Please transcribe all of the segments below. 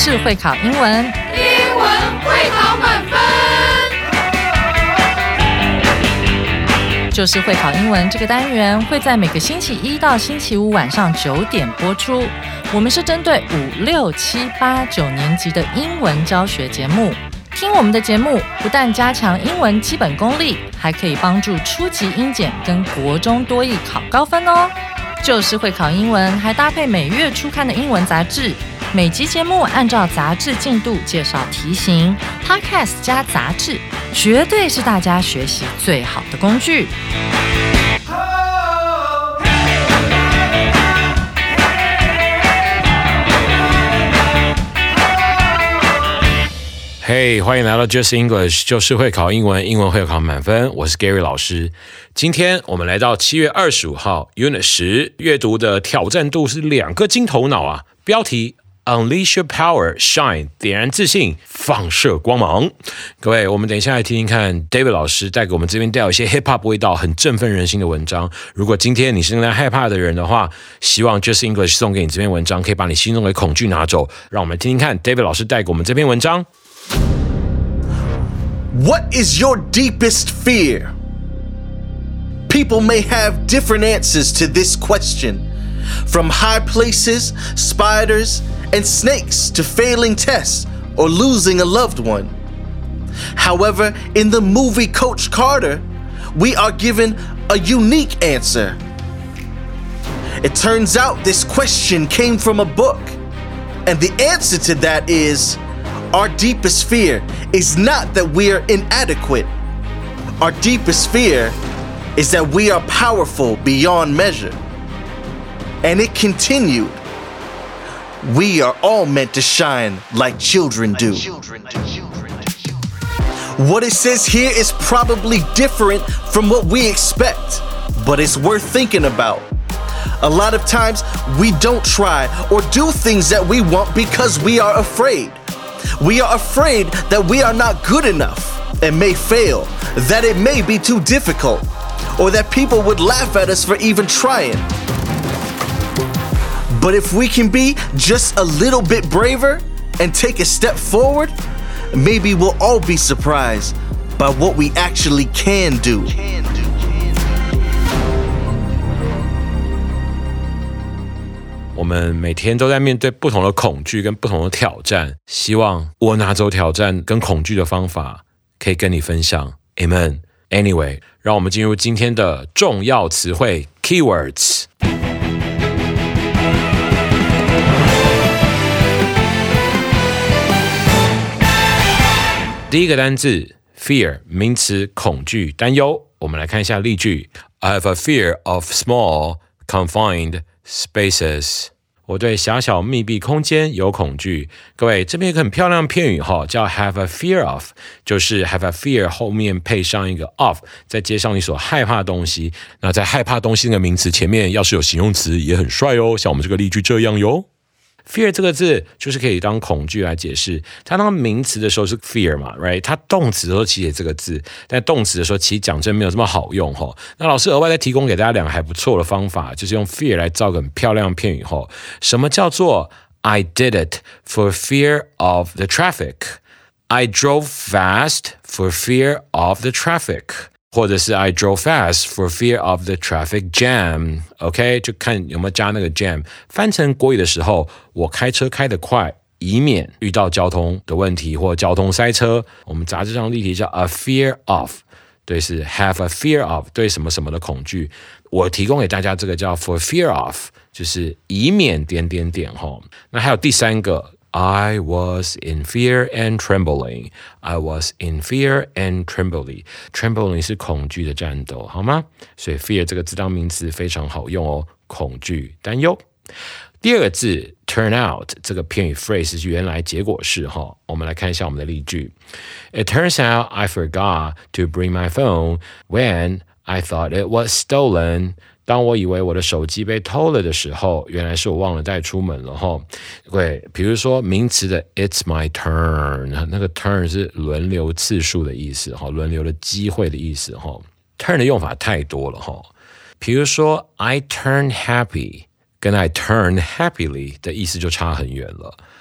就是会考英文， 英文会考满分。 就是会考英文这个单元会在每个星期一到星期五晚上9点播出。我们是针对5、6、7、8、9年级的英文教学节目。听我们的节目，不但加强英文基本功力，还可以帮助初级英检跟国中多益考高分哦。就是会考英文，还搭配每月初刊的英文杂志。每集节目按照杂志进度介绍题型 ，Podcast 加杂志，绝对是大家学习最好的工具。 嘿，欢迎来到 Just English， 就是会考英文，英文会考满分。我是 Gary 老师。今天我们来到7月25号 Unit 10，阅读的挑战度是2个金头脑啊。标题 Unleash your power, shine， 点燃自信，放射光芒。各位，我们等一下来听听看 David 老师带给我们这边带有一些 hip hop 味道，很振奋人心的文章。如果今天你是正在害怕的人的话，希望 Just English 送给你这篇文章，可以把你心中的恐惧拿走。让我们听听看 David 老师带给我们这篇文章。 What is your deepest fear? People may have different answers to this question, from high places, spiders, and snakes to failing tests or losing a loved one. However, in the movie Coach Carter, we are given a unique answer. It turns out this question came from a book, and the answer to that is our deepest fear is not that we are inadequate. Our deepest fear is that we are powerful beyond measure. And it continued. We are all meant to shine like children do. What it says here is probably different from what we expect, but it's worth thinking about. A lot of times, we don't try or do things that we want because we are afraid. We are afraid that we are not good enough and may fail, that it may be too difficult, or that people would laugh at us for even trying. But if we can be just a little bit braver and take a step forward, maybe we'll all be surprised by what we actually can do. 我们每天都在面对不同的恐惧跟不同的挑战，希望我拿走挑战跟恐惧的方法可以跟你分享 Amen。 Anyway， 让我们进入今天的重要词汇 Keywords。 第一个单字 Fear， 名词，恐惧，担忧。我们来看一下例句。 I have a fear of small, confined spaces， 我对狭小密闭空间有恐惧。各位，这边有个很漂亮的片语叫 have a fear of， 就是 have a fear 后面配上一个 of， 再接上你所害怕的东西。那在害怕东西那个名词前面要是有形容词也很帅哦，像我们这个例句这样哟。Fear 这个字就是可以当恐惧来解释，它当名词的时候是 fear 嘛 ，right？ 它动词的时候其实也这个字，但动词的时候其实讲真没有这么好用那老师额外再提供给大家2个还不错的方法，就是用 fear 来造个很漂亮的片语什么叫做 I did it for fear of the traffic？ I drove fast for fear of the traffic。或者是 I drove fast for fear of the traffic jam， OK， 就看有没有加那个 jam。 翻成国语的时候，我开车开得快，以免遇到交通的问题或交通塞车。我们杂志上例题叫 a fear of， 对，是 have a fear of， 对什么什么的恐惧。我提供给大家这个叫 for fear of， 就是以免点点点那还有第3个I was in fear and trembling. I was in fear and trembling. Trembling 是恐惧的战斗，好吗？所以 fear 这个字当名词非常好用哦，恐惧、担忧。第2个字 turn out 这个片语 phrase 是原来结果式我们来看一下我们的例句。It turns out I forgot to bring my phone when I thought it was stolen. 当我以为我的手机被偷了的时候，原来是我忘了带出门了对，比如说名词的 It's my turn， 那个 turn 是轮流次数的意思轮流的机会的意思turn 的用法太多了比如说 I turn happy 跟 I turn happily 的意思就差很远了。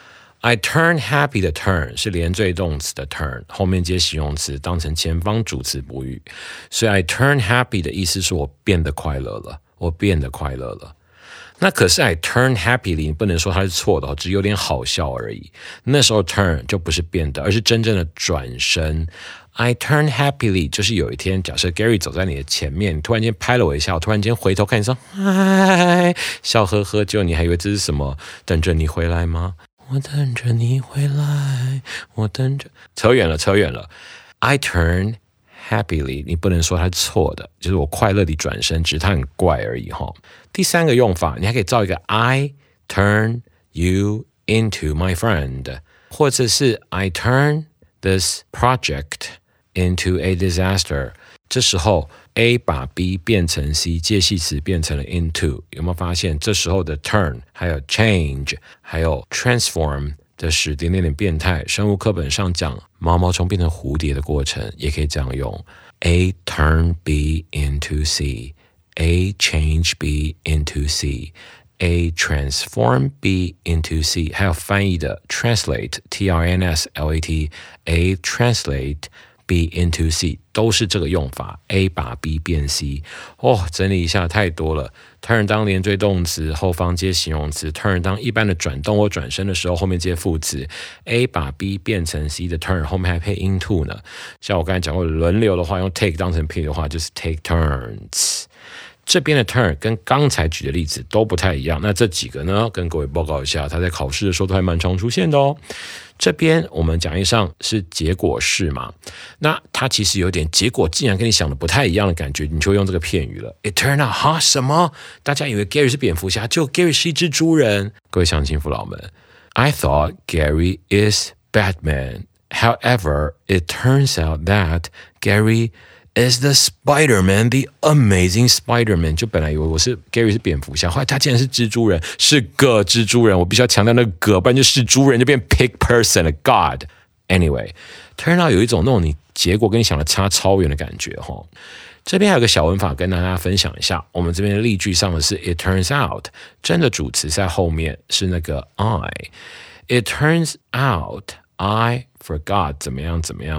I turn happy 的 turn 是连缀动词的 turn， 后面接形容词当成前方主词补语，所以 I turn happy 的意思是我变得快乐了，我变得快乐了。那可是 I turn happily 你不能说它是错的，只是有点好笑而已。那时候 turn 就不是变的，而是真正的转身。I turn happily 就是有一天，假设 Gary 走在你的前面，你突然间拍了我一下，我突然间回头看你说嗨，笑呵呵，结果你还以为这是什么？等着你回来吗？我等着你回来，我等着。扯远了。I turn happily 你不能说它是错的，就是我快乐地转身，只是它很怪而已齁。第三个用法，你还可以造一个 I turn you into my friend， 或者是 I turn this project into a disaster。 这时候 A 把 B 变成 C， 介系词变成了 into， 有没有发现这时候的 turn 还有 change 还有 transform 的使点变态，生物课本上讲毛毛虫变成蝴蝶的过程也可以这样用。 A turn B into C， A change B into C， A transform B into C， 还有翻译的 translate T-R-N-S-L-A-T， A translate B into C 都是这个用法。 A 把 B 变 C， 整理一下，太多了。 turn 当连缀动词，后方接形容词。 turn 当一般的转动或转身的时候，后面接副词。 A 把 B 变成 C 的 turn 后面还配 into 呢。像我刚才讲过轮流的话，用 take 当成 P 的话就是 take turns。这边的 turn 跟刚才举的例子都不太一样，那这几个呢，跟各位报告一下，它在考试的时候都还蛮常出现的哦。这边我们讲义上是结果式嘛，那它其实有点结果竟然跟你想的不太一样的感觉，你就会用这个片语了。It turned out 什么？大家以为 Gary 是蝙蝠侠，结果 Gary 是一只猪人。各位乡亲父老们 ，I thought Gary is Batman. However, it turns out that Gary is the Spider-Man, the amazing Spider-Man。 就本来以为Gary 是蝙蝠侠，后来他竟然是蜘蛛人，是个蜘蛛人。我必须要强调那个，不然就是猪人就变 pig person 了。God。 Anyway, turn out 有一种那种你结果跟你想的差超远的感觉齁。这边还有个小文法跟大家分享一下，我们这边的例句上的是 it turns out， 真的主词在后面是那个 I。 It turns out I forgot 怎么样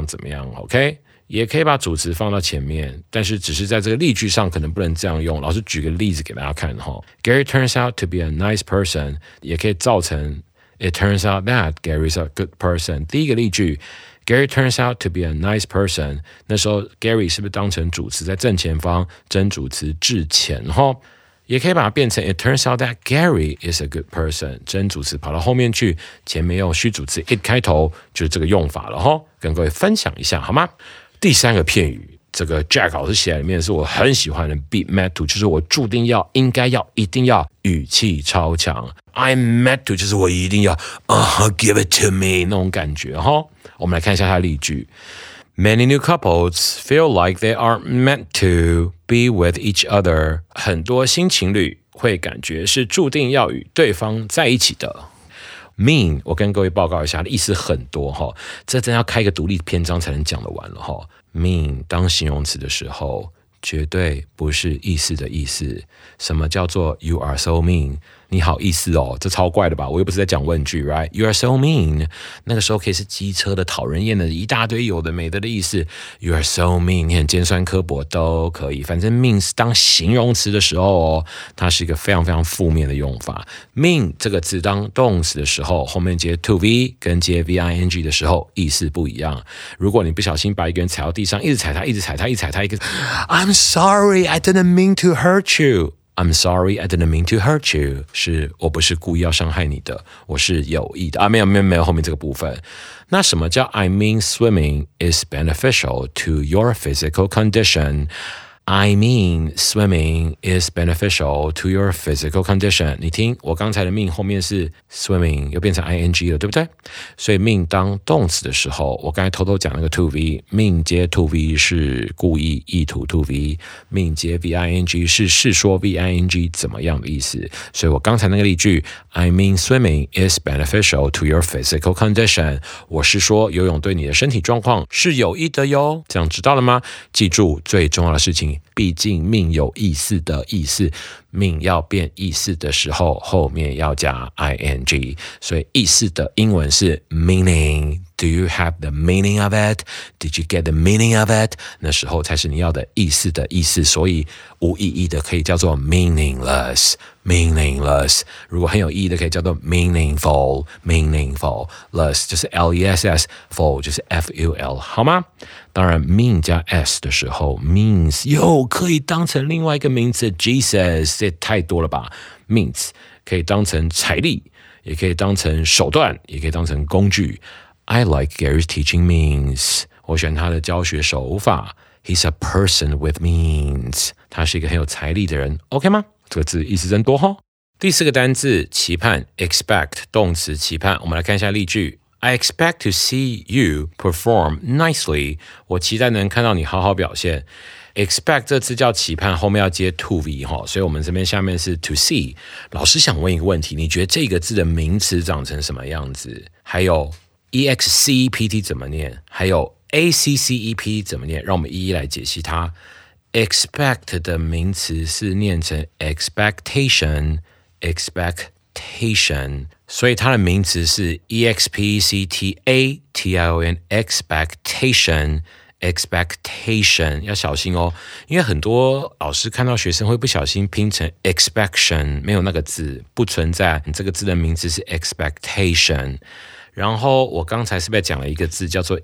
OK，也可以把主词放到前面，但是只是在这个例句上可能不能这样用。老师举个例子给大家看齁。 Gary turns out to be a nice person， 也可以造成 It turns out that Gary is a good person。 第一个例句 Gary turns out to be a nice person， 那时候 Gary 是不是当成主词在正前方，真主词至前齁。也可以把它变成 It turns out that Gary is a good person， 真主词跑到后面去，前面用虚主词 it 开头，就是这个用法了齁。跟各位分享一下好吗？第三个片语，这个 Jack 老师写在里面是我很喜欢的 be mad to， 就是我注定要、应该要、一定要，语气超强。I'm mad to 就是我一定要give it to me 那种感觉齁。我们来看一下它的例句。Many new couples feel like they are meant to be with each other。 很多新情侣会感觉是注定要与对方在一起的。mean 我跟各位报告一下，意思很多齁，这真要开一个独立篇章才能讲得完了齁。mean 当形容词的时候，绝对不是意思的意思。什么叫做 you are so mean？ 你好意思哦，这超怪的吧？我又不是在讲问句 ，right？ You are so mean， 那个时候可以是机车的、讨人厌的，一大堆有的没的的意思。You are so mean， 你很尖酸刻薄都可以，反正 mean 当形容词的时候哦，它是一个非常非常负面的用法。mean 这个字当动词的时候，后面接 to v 跟接 v-i-n-g 的时候意思不一样。如果你不小心把一个人踩到地上，一直踩他，一直踩他，一直踩他，一个 I'm sorry, I didn't mean to hurt you。I'm sorry, I didn't mean to hurt you。 是我不是故意要伤害你的，我是有意的啊！没有后面这个部分。那什么叫 I mean swimming is beneficial to your physical condition？I mean swimming is beneficial to your physical condition。 你听我刚才的 mean 后面是 swimming 又变成 ing 了，对不对？所以 mean 当动词的时候，我刚才偷偷讲那个 to v， mean 接 to v 是故意意图 to v， mean 接 v-i-n-g 是说 v-i-n-g 怎么样的意思。所以我刚才那个例句 I mean swimming is beneficial to your physical condition， 我是说游泳对你的身体状况是有益的哟。这样知道了吗？记住最重要的事情，毕竟命有意思的意思 mean 要变意思的时候，后面要加 ing， 所以意思的英文是 meaning。Do you have the meaning of it? Did you get the meaning of it? 那时候才是你要的意思的意思，所以无意义的可以叫做 meaningless。如果很有意义的可以叫做 meaningful。less 就是 less，full 就是 ful， 好吗？当然 mean 加 s 的时候 means 又可以当成另外一个名词 Jesus， 这太多了吧。 means 可以当成财力，也可以当成手段，也可以当成工具。I like Gary's teaching means， 我喜欢他的教学手法。 He's a person with means， 他是一个很有财力的人， OK 吗？这个字意思真多齁。第4个单字期盼 expect， 动词期盼，我们来看一下例句。I expect to see you perform nicely， 我期待能看到你好好表现。expect 这字叫期盼，后面要接 to be， 所以我们这边下面是 to see。 老师想问一个问题，你觉得这个字的名词长成什么样子？还有 except 怎么念？还有 accep 怎么念？让我们一一来解析它。expect 的名词是念成 expectation， 所以它的名词是 expectation， expectation， 要小心哦，因为很多老师看到学生会不小心拼成 expection， 没有那个字，不存在，这个字的名字是 expectation。然后我刚才是不是讲了一个字叫做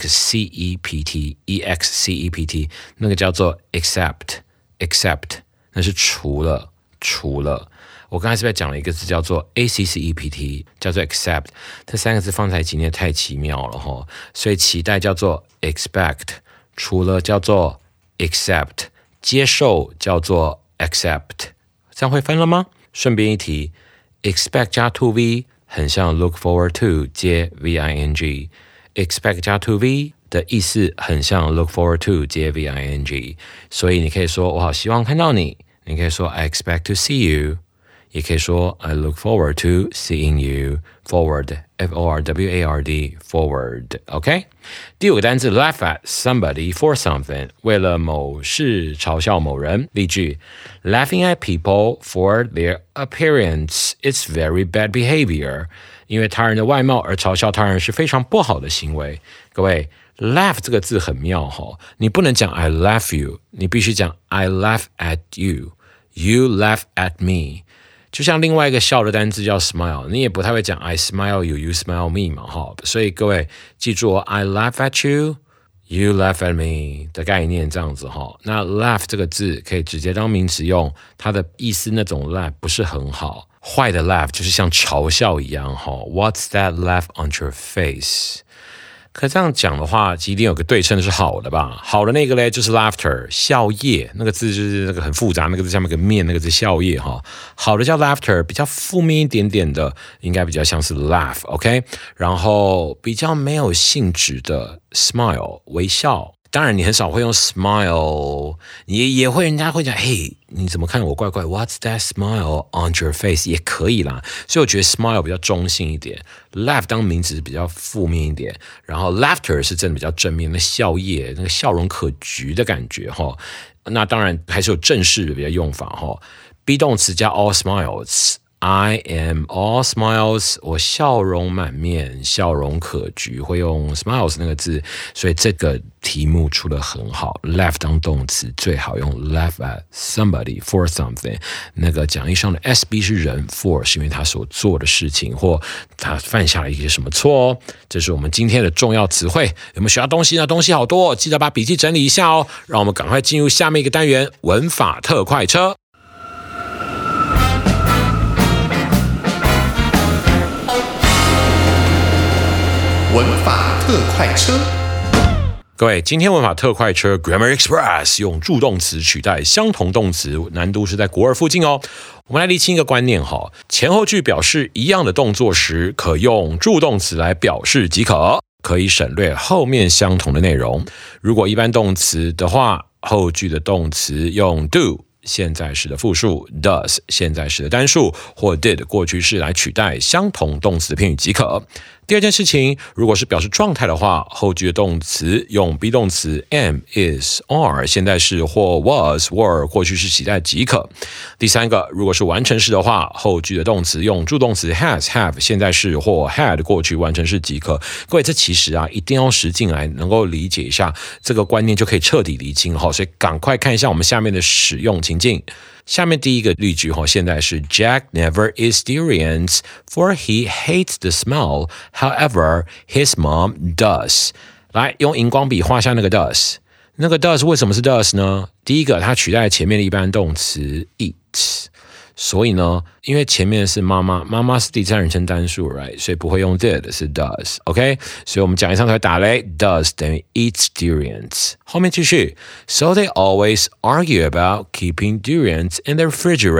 except， 那个叫做 accept， 那是除了。我刚才是不是讲了一个字叫做 accept， 叫做 accept， 这3个字放在一起念太奇妙了齁，所以期待叫做 expect， 除了叫做 accept， 接受叫做 accept， 这样会分了吗？顺便一提 expect 加 to be 很像 look forward to 接 VING， expect 加 to be 的意思很像 look forward to 接 VING， 所以你可以说我好希望看到你，你可以说 I expect to see you， 也可以说 I look forward to seeing you。 forward F-O-R-W-A-R-D forward OK。 第5个单字 laugh at somebody for something， 为了某事嘲笑某人。例句 Laughing at people for their appearance is very bad behavior， 因为他人的外貌而嘲笑他人是非常不好的行为。各位laugh 这个字很妙齁，你不能讲 I laugh you， 你必须讲 I laugh at you， You laugh at me。就像另外一个笑的单字叫 smile， 你也不太会讲 I smile you, you smile me 嘛，所以各位记住I laugh at you, you laugh at me 的概念这样子。那 laugh 这个字可以直接当名词用，它的意思那种 laugh 不是很好，坏的 laugh 就是像嘲笑一样。What's that laugh on your face？可这样讲的话，一定有个对称的是好的吧？好的那个嘞就是 laughter， 笑靥，那个字就是那个很复杂，那个字下面有个面，那个字笑靥哈。好的叫 laughter， 比较负面一点点的，应该比较像是 laugh，OK？ 然后比较没有性质的 smile， 微笑。当然你很少会用 smile， 也会人家会讲，嘿，你怎么看我怪怪 ？What's that smile on your face？ 也可以啦。所以我觉得 smile 比较中性一点 ，laugh 当名词比较负面一点，然后 laughter 是真的比较正面，那笑靥，那个笑容可掬的感觉哈。那当然还是有正式的比较用法哈 ，be 动词加 all smiles。I am all smiles， 我笑容满面，笑容可掬，会用 smiles 那个字，所以这个题目出得很好。laugh 当动词最好用 laugh at somebody for something。那个讲义上的 SB 是人 for 是因为他所做的事情或他犯下了一些什么错哦。这是我们今天的重要词汇。有没有学到东西呢？东西好多，记得把笔记整理一下哦。让我们赶快进入下面一个单元——文法特快车。 文法特快车， 各位，今天文法特快车 Grammar Express 用助动词取代相同动词，难度是在国2附近哦。我们来厘清一个观念哈，前后句表示一样的动作时，可用助动词来表示即可，可以省略后面相同的内容。如果一般动词的话，后句的动词用 do。现在时的复数 does 现在时的单数或 did 过去式来取代相同动词的片语即可。 第二件事情，如果是表示状态的话，后句的动词用 be 动词 am, is, are 现在式或 was, were 过去式期待即可。第三个，如果是完成式的话，后句的动词用助动词 has, have 现在式或 had 过去完成式即可。各位，这其实一定要实进来能够理解一下这个观念，就可以彻底厘清。所以赶快看一下我们下面的使用情境。下面第一个例句现在是 Jack never eats durians for he hates the smell. However, his mom does. 来，用荧光笔画下那个 does。那个 does 为什么是 does 呢？第一个，它取代前面的一般动词 eat。所以呢，因为前面是妈妈，妈妈是第三人称单数 right， 所以不会用 did， 是 does OK， 所以我们讲义上才会打雷 does 等于 eats durians。 后面继续 So they always argue about keeping durians in the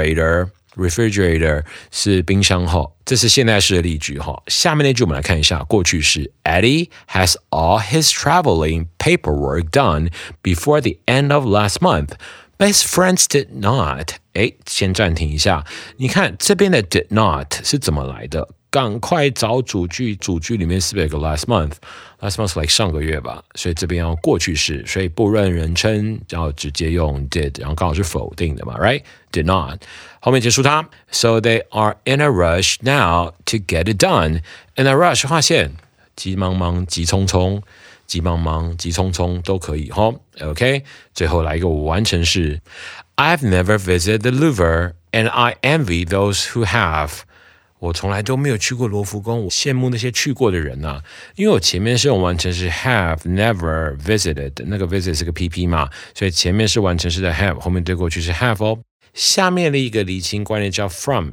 refrigerator 是冰箱这是现在式的例句下面那句我们来看一下，过去式 Eddie has all his traveling paperwork done before the end of last month。But his friends did not. 先暂停一下，你看这边的 did not 是怎么来的？赶快找主句，主句里面是不是有个 last month？ Last month like 上个月吧，所以这边要过去式，所以不论人称，然后直接用 did， 然后刚好是否定的嘛 ，right？ Did not， 后面结束它 ，So they are in a rush now to get it done. In a rush 划线，急忙忙，急匆匆。急忙忙、急匆匆都可以OK， 最后来一个完成式 I've never visited the Louvre and I envy those who have。 我从来都没有去过罗浮宫，我羡慕那些去过的人因为我前面是用完成式 have never visited， 那个 visit 是个 PP 嘛，所以前面是完成式的 have， 后面对过去是 have下面的一个厘清观念叫 from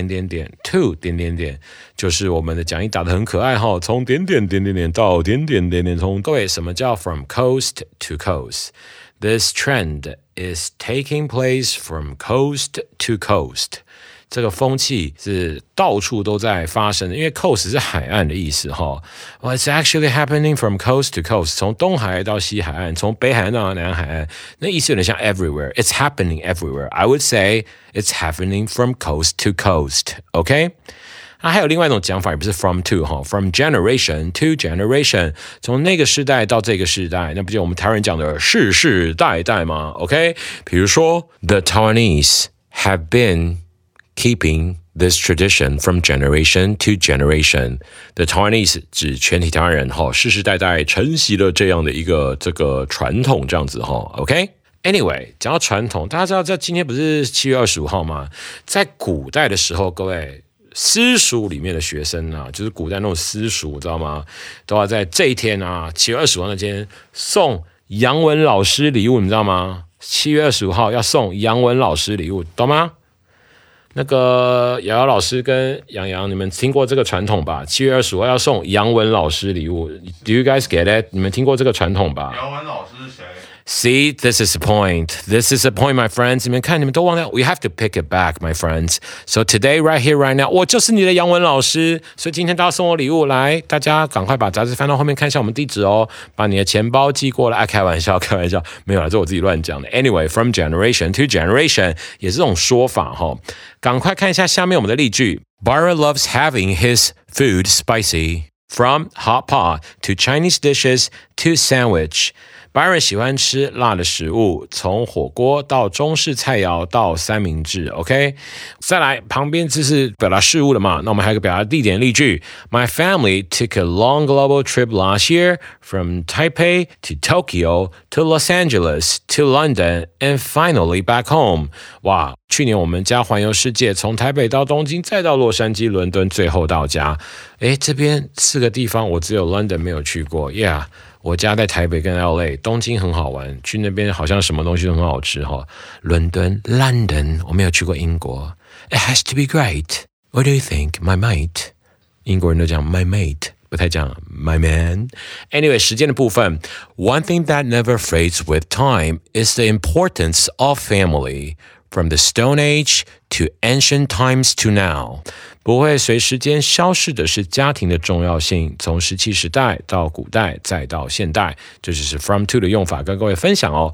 to 就是我们的讲义打得很可爱从到从各位，什么叫 from coast to coast？ This trend is taking place from coast to coast。这个风气是到处都在发生的，因为 coast 是海岸的意思Well, it's actually happening from coast to coast， 从东海岸到西海岸，从北海岸到南海岸，那意思有点像 everywhere。 It's happening everywhere. I would say it's happening from coast to coast. OK？ 还有另外一种讲法，也不是 from to from generation to generation， 从那个世代到这个世代，那不就我们台湾人讲的世世代代吗 ？OK？ 比如说 The Taiwanese have been keeping this tradition from generation to generation. The Taiwanese 指全体台湾人世世代代承袭了这样的一个这个传统，这样子OK？Anyway， 讲到传统，大家知道今天不是7月25号吗？在古代的时候，各位私塾里面的学生就是古代那种私塾，知道吗？都要在这一天7月25号那天送杨文老师礼物，你知道吗？7月25号要送杨文老师礼物，懂吗？那个瑶瑶老师跟杨洋，你们听过这个传统吧？7月25号要送杨文老师礼物 ，Do you guys get it？ 你们听过这个传统吧？ 杨文老师是谁？ See, this is the point. This is the point, my friends. 你们看，你们都忘掉 ，We have to pick it back, my friends. So today, right here, right now， 我就是你的杨文老师。所以今天大家送我礼物，来，大家赶快把杂志翻到后面看一下我们地址把你的钱包寄过来。开玩笑，没有啦，这我自己乱讲的。Anyway, from generation to generation 也是这种说法赶快看一下下面我们的例句。Byron loves having his food spicy. From hot pot to Chinese dishes to sandwich.Byron 喜欢吃辣的食物，从火锅到中式菜肴到三明治 OK， 再来旁边这是表达事物的嘛，那我们还有一个表达地点例句 My family took a long global trip last year from Taipei to Tokyo to Los Angeles to London and finally back home。 哇，去年我们家环游世界，从台北到东京再到洛杉矶、伦敦，最后到家。这边4个地方我只有 London 没有去过 Yeah，我家在台北跟 LA， 东京很好玩，去那边好像什么东西都很好吃伦敦 London 我没有去过英国 It has to be great. What do you think, my mate? 英国人都讲 my mate， 不太讲 my man. Anyway， 时间的部分 One thing that never fades with time is the importance of family. From the Stone Age to ancient times to now， 不会随时间消逝的是家庭的重要性，从石器时代到古代再到现代，这就是 from to 的用法跟各位分享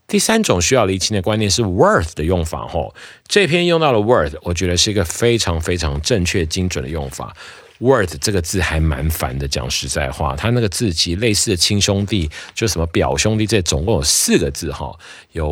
第三种需要厘清的观念是 worth 的用法吼，这篇用到了 worth， 我觉得是一个非常非常正确精准的用法。worth 这个字还蛮烦的，讲实在话，它那个字其实类似的亲兄弟，就什么表兄弟，这总共有4个字哈，有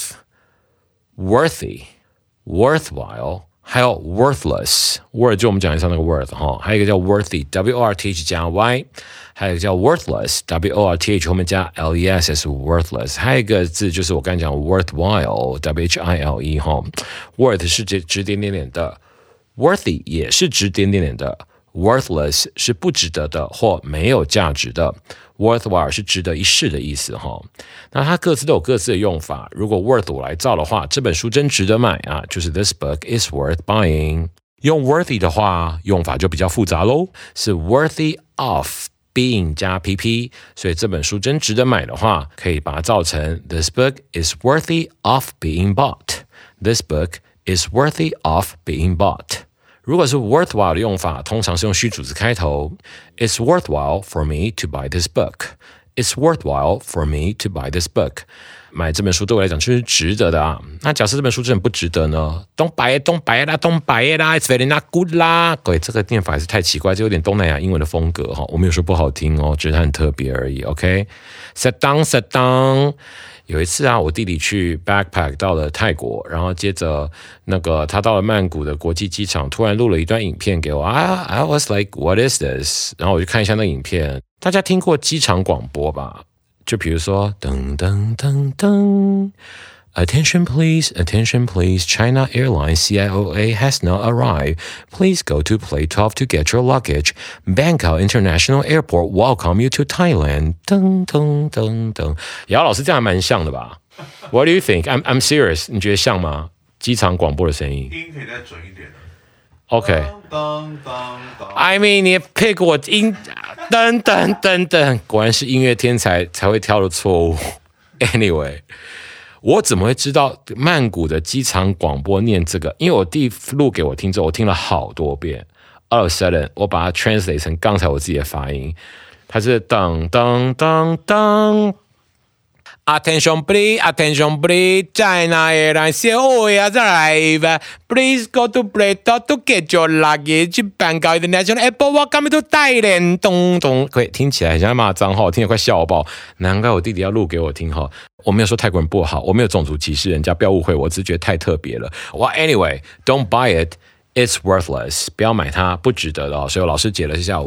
worth、worthy、worthwhile， 还有 worthless。word 就我们讲一下那个 worth 哈，还有一个叫 worthy，W-O-R-T-H 加 Y。还有一个叫 worthless W-O-R-T-H 后面加 L-E-S 是 worthless， 还有一个字就是我刚才讲 worthwhile W-H-I-L-E 哈 worth 是指点点点的 worthy 也是指点点点的 worthless 是不值得的或没有价值的 worthwhile 是值得一试的意思哈。那它各自都有各自的用法，如果 worth 我来造的话，这本书真值得买啊，就是 This book is worth buying。用 worthy 的话用法就比较复杂咯，是 worthy of being 加 PP， 所以这本书真值得买的话，可以把它造成 This book is worthy of being bought. This book is worthy of being bought. 如果是 worthwhile 的用法，通常是用虚主词开头。It's worthwhile for me to buy this book. It's worthwhile for me to buy this book. 买这本书对我来讲就是值得的啊。那假设这本書真的不值得呢 ？Don't buy it, don't buy it 啦 ，Don't buy it 啦 ，It's very not good 啦。各位，这个念法还是太奇怪，这有点东南亚英文的风格哈。我没有说不好听哦，只是它很特别而已。OK，sit down，sit down。有一次啊，我弟弟去 backpack 到了泰国，然后接着那个他到了曼谷的国际机场，突然录了一段影片给我啊 ，I was like, what is this？ 然后我就看一下那影片，大家听过机场广播吧？就比如说噔噔噔噔 Attention please, attention please, China Airlines CIOA has not arrived. Please go to plate 12 to get your luggage. Bangkok International Airport welcome you to Thailand. 噔噔噔噔，姚老师这样还蛮像的吧 ？What do you think? I'm serious. 你觉得像吗？机场广播的声音， 音可以再准一点。 OK， 当当当 I mean 你 pick 我音，噔噔噔噔，果然是音乐天才才会挑的错误。Anyway， 我怎么会知道曼谷的机场广播念这个？因为我弟录给我听之后，我听了好多遍。All of a sudden， 我把它 translate 成刚才我自己的发音，它是噔噔噔噔。Attention please, attention please, China Airlines COA has arrived. Please go to plate 12 to get your luggage. Bangkok International Airport welcome to Thailand. 咚咚，可以听起来很像在骂脏话，我听得快笑爆。难怪我弟弟要录给我听哈。我没有说泰国人不好，我没有种族歧视人家，不要误会我，只是觉得太特别了。Well, anyway, don't buy it.It's worthless， 不要买它，不值得的哦。所以我老师解了一下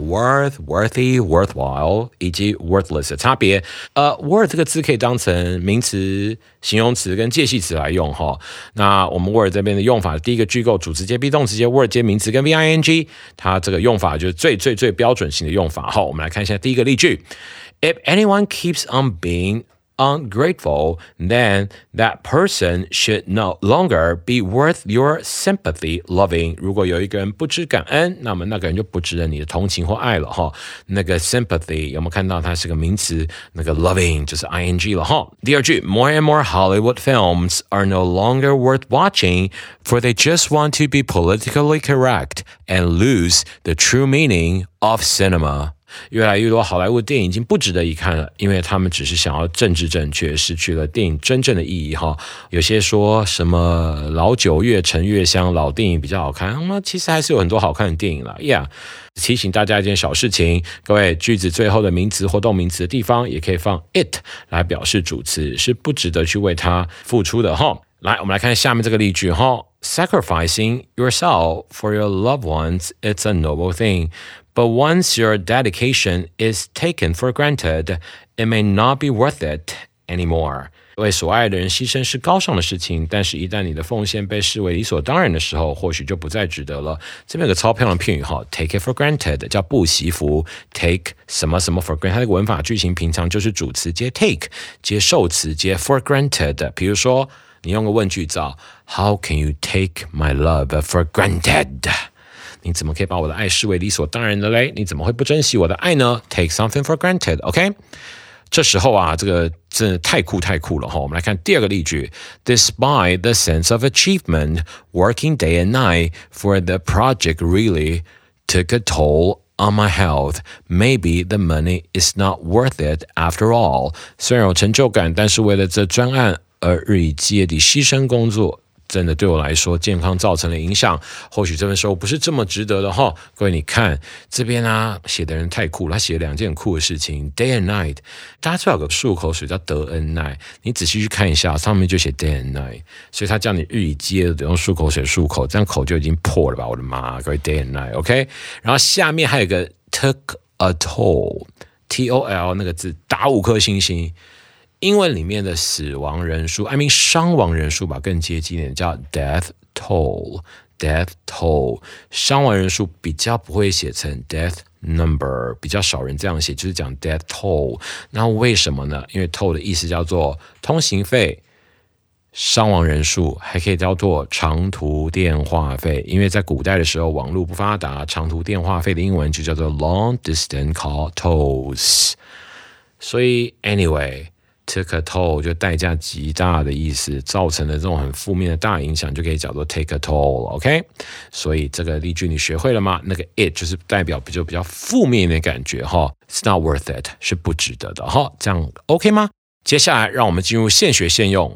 worth、worthy、worthwhile 以及 worthless 的差别。worth 这个字可以当成名词、形容词跟介系词来用哈。那我们 word 这边的用法，第一个句构主词接 be 动词接 word 接名词跟 VING， 它这个用法就是最标准型的用法哈。我们来看一下第一个例句 ：If anyone keeps on being ungrateful, then that person should no longer be worth your sympathy loving. 如果有一个人不知感恩，那么那个人就不值得你的同情或爱了哈。那个 sympathy 有没有看到它是个名词？那个 loving 就是 ing 了哈。第二句 ，More and more Hollywood films are no longer worth watching, for they just want to be politically correct and lose the true meaning of cinema.越来越多好莱坞电影已经不值得一看了，因为他们只是想要政治正确，失去了电影真正的意义哈。有些说什么老酒越陈越香，老电影比较好看，其实还是有很多好看的电影啦。Yeah， 提醒大家一件小事情，各位句子最后的名词或动名词的地方也可以放 it 来表示主词，是不值得去为它付出的哈。来，我们来看下面这个例句哈。Sacrificing yourself for your loved ones, it's a noble thing.But once your dedication is taken for granted, it may not be worth it anymore. 为所爱的人牺牲是高尚的事情，但是一旦你的奉献被视为理所当然的时候，或许就不再值得了。这边有个超漂亮的片语哈 ，take it for granted 叫不惜福 ，take 什么什么 for granted， 它这个文法句型平常就是主词接 take， 接受词接 for granted。比如说，你用个问句造 ，How can you take my love for granted？你怎么可以把我的爱视为理所当然的嘞？你怎么会不珍惜我的爱呢 ？Take something for granted, OK？ 这时候啊，这个真的太酷了哈！我们来看第二个例句 ：Despite the sense of achievement, working day and night for the project really took a toll on my health. Maybe the money is not worth it after all. 虽然有成就感，但是为了这专案而日以继夜地牺牲工作，真的对我来说健康造成了影响，或许这份收入不是这么值得的哈。各位你看这边啊，写的人太酷了，他写了2件很酷的事情 day and night。 大家知道有个漱口水叫德恩奈，你仔细去看一下，上面就写 day and night， 所以他叫你日以继夜的用漱口水漱口，这样口就已经破了吧，我的妈，各位 day and night OK。 然后下面还有一个 took a toll TOL 那个字打5颗星星，英文里面的死亡人数 I mean 伤亡人数吧，更接近一点叫 death toll。 death toll 伤亡人数比较不会写成 death number， 比较少人这样写，就是讲 death toll。 那为什么呢？因为 toll 的意思叫做通行费、伤亡人数，还可以叫做长途电话费，因为在古代的时候网络不发达，长途电话费的英文就叫做 long distance call tolls。 所以 anyway took a toll 就代价极大的意思，造成的这种很负面的大影响就可以叫做 take a toll OK。 所以这个例句你学会了吗？那个 it 就是代表比较负面的感觉哈 ，it's not worth it 是不值得的哈，这样 OK 吗？接下来让我们进入现学现用。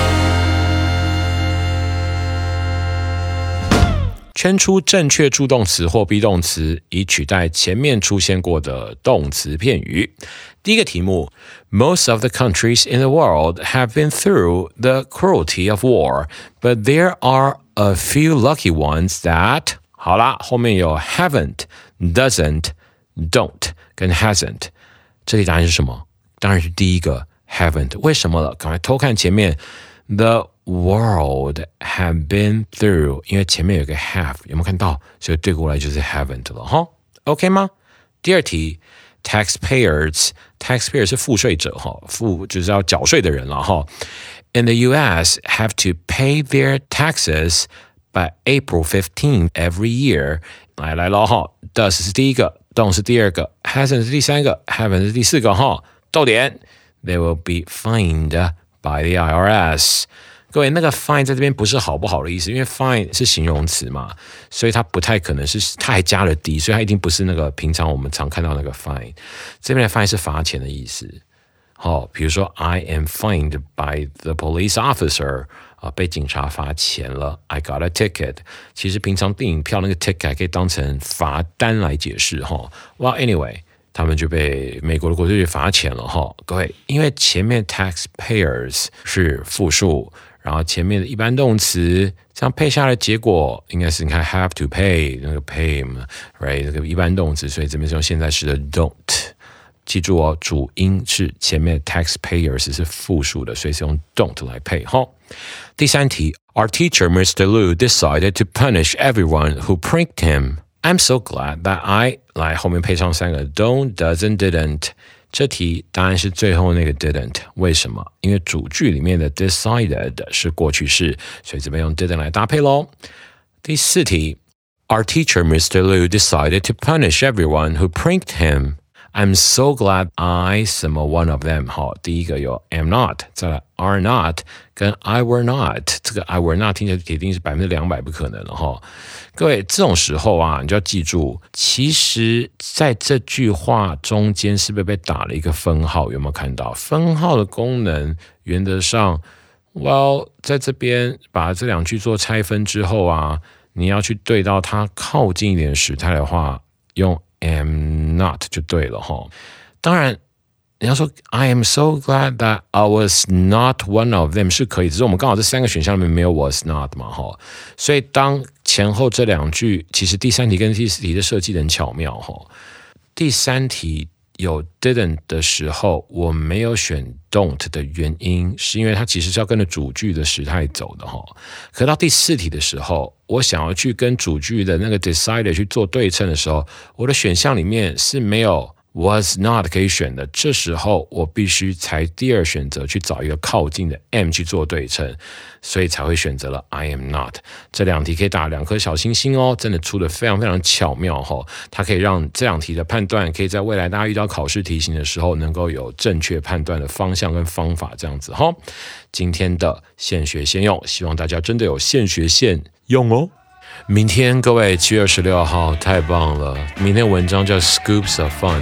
圈出正确助动词或 be 动词，以取代前面出现过的动词片语。第一个题目 Most of the countries in the world have been through the cruelty of war, but there are a few lucky ones that 好啦，后面有 haven't, doesn't, don't 跟 hasn't。 这题答案是什么？当然是第一个 haven't。 为什么了？赶快偷看前面 The world have been through， 因为前面有个 have， 有没有看到？所以对过来就是 haven't 了哈 OK 吗？第二题 taxpayers 是赋税者哈，就是要缴税的人了哈。In the US have to pay their taxes by April 15 every year。 来了哈 does 是第一个， don't 是第二个， hasn't 是第三个， haven't 是第四个哈。逗点 They will be fined by the IRS。 各位，那个 fine 在这边不是好不好的意思，因为 fine 是形容词嘛，所以它不太可能是，它还加了 d， 所以它一定不是那个平常我们常看到那个 fine。 这边的 fine 是罚钱的意思。比如说 I am fined by the police officer， 被警察罚钱了 I got a ticket。 其实平常电影票那个 ticket 还可以当成罚单来解释Well anyway，他们就被美国的国税局罚钱了哈，各位，因为前面 taxpayers 是复数，然后前面的一般动词，这样配下来的结果应该是你看 have to pay 那个 pay right 这个一般动词，所以这边是用现在时的 don't。记住哦，主音是前面 taxpayers 是复数的，所以是用 don't 来配哈。第三题 ，Our teacher Mr. Liu decided to punish everyone who pranked him.I'm so glad that I 来后面配上3个 don't, doesn't, didn't。 这题答案是最后那个 didn't。 为什么？因为主句里面的 decided 是过去式，所以这边用 didn't 来搭配咯。第四题 Our teacher Mr. Liu decided to punish everyone who pranked him.I'm so glad I 什么 one of them。 好，第一个有 am not， 再来 are not 跟 I were not。 这个 I were not 听起来铁定是200%不可能了哈。各位，这种时候啊，你就要记住，其实在这句话中间是不是被打了一个分号？有没有看到分号的功能？原则上 well 在这边把这2句做拆分之后啊，你要去对到它靠近一点时态的话，用am not 就对了哈。当然你要说 I am so glad that I was not one of them 是可以，只是我们刚好这3个选项里面没有 was not 嘛哈。所以当前后这2句，其实第3题跟第4题的设计得很巧妙哈。第3题有 didn't 的时候，我没有选 don't 的原因，是因为它其实是要跟着主句的时态走的哈。可到第4题的时候，我想要去跟主句的那个 decided 去做对称的时候，我的选项里面是没有 was not 可以选的，这时候我必须才第2选择去找一个靠近的 am 去做对称，所以才会选择了 I am not。 这2题可以打2颗小星星哦，真的出得非常非常巧妙哦。它可以让这2题的判断可以在未来大家遇到考试题型的时候能够有正确判断的方向跟方法这样子哦。今天的现学现用，希望大家真的有现学现用哦。明天各位7月26号太棒了，明天文章叫 Scoops of Fun，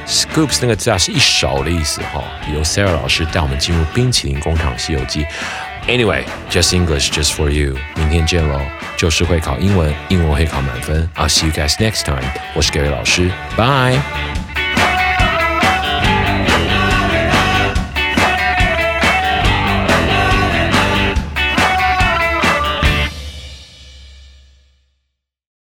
Scoops 那个字啊是一勺的意思哈。由 Sarah 老师带我们进入冰淇淋工厂西游记。Anyway, just English just for you. 明天见喽，就是会考英文，英文会考满分。I'll see you guys next time. 我是 Gary 老师， Bye.